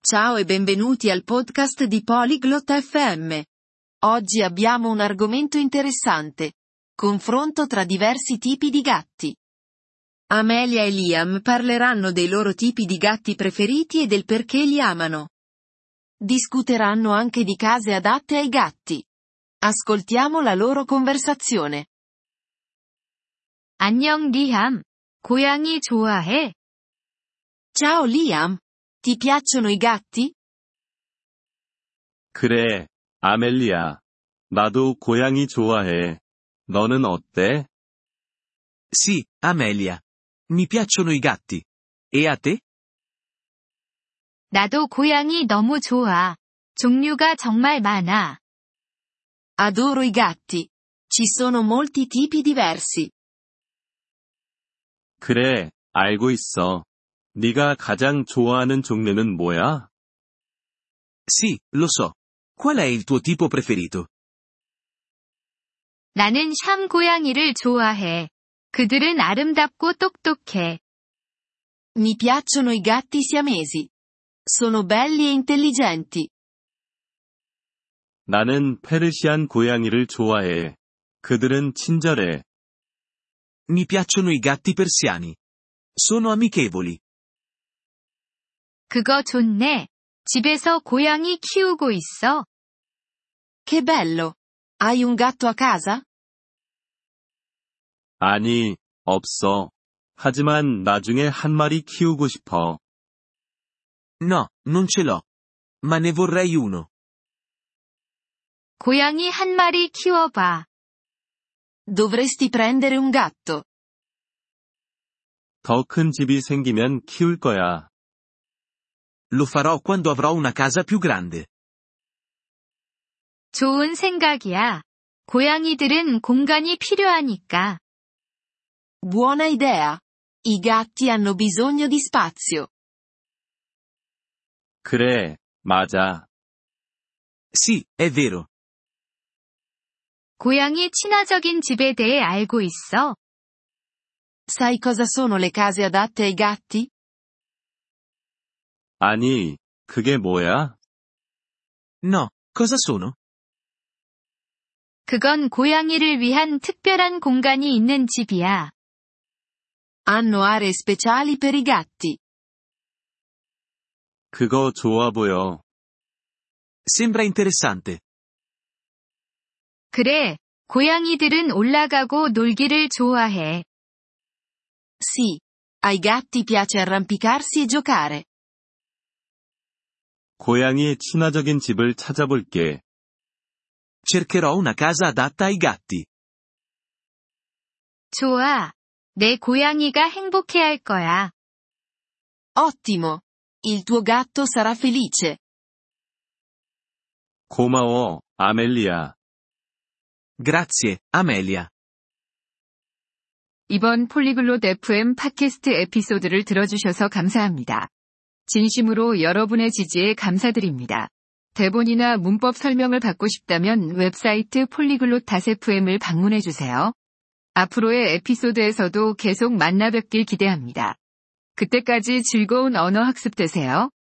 Ciao e benvenuti al podcast di Polyglot FM. Oggi abbiamo un argomento interessante. Confronto tra diversi tipi di gatti. Amelia e Liam parleranno dei loro tipi di gatti preferiti e del perché li amano. Discuteranno anche di case adatte ai gatti. Ascoltiamo la loro conversazione. 안녕 리암. 고양이 좋아해? Ciao Liam. Ti piacciono i gatti? 그래, 아멜리야. 나도 고양이 좋아해. 너는 어때? Sì, Amelia. Mi piacciono i gatti. E a te? 나도 고양이 너무 좋아. 종류가 정말 많아. Adoro i gatti. Ci sono molti tipi diversi. 그래, 알고 있어. 네가 가장 좋아하는 종류는 뭐야? Sì, lo so. Qual è il tuo tipo preferito? 나는 샴 고양이를 좋아해. 그들은 아름답고 똑똑해. Mi piacciono i gatti siamesi. Sono belli e intelligenti. 나는 페르시안 고양이를 좋아해. 그들은 친절해. Mi piacciono i gatti persiani. Sono amichevoli. 그거 좋네. 집에서 고양이 키우고 있어? Che bello! Hai un gatto a casa? 아니, 없어. 하지만 나중에 한 마리 키우고 싶어. No, non ce l'ho. Ma ne vorrei uno. 고양이 한 마리 키워봐. Dovresti prendere un gatto. 더 큰 집이 생기면 키울 거야. Lo farò quando avrò una casa più grande. 좋은 생각이야. 고양이들은 공간이 필요하니까. Buona idea. I gatti hanno bisogno di spazio. 그래, 맞아. Sì, è vero. 고양이 친화적인 집에 대해 알고 있어? Sai cosa sono le case adatte ai gatti? 아니, 그게 뭐야? No, cosa sono? 그건 고양이를 위한 특별한 공간이 있는 집이야. Hanno aree speciali per i gatti. 그거 좋아 보여. Sembra interessante. 그래, 고양이들은 올라가고 놀기를 좋아해. Sì. Ai gatti piace arrampicarsi e giocare. 고양이의 친화적인 집을 찾아볼게. Cercherò una casa adatta ai gatti. 좋아. 내 고양이가 행복해할 거야. Ottimo. Il tuo gatto sarà felice. 고마워, 아멜리아. Grazie, Amelia. 이번 폴리글롯 FM 팟캐스트 에피소드를 들어주셔서 감사합니다. 진심으로 여러분의 지지에 감사드립니다. 대본이나 문법 설명을 받고 싶다면 웹사이트 polyglot.fm을 방문해주세요. 앞으로의 에피소드에서도 계속 만나 뵙길 기대합니다. 그때까지 즐거운 언어 학습 되세요.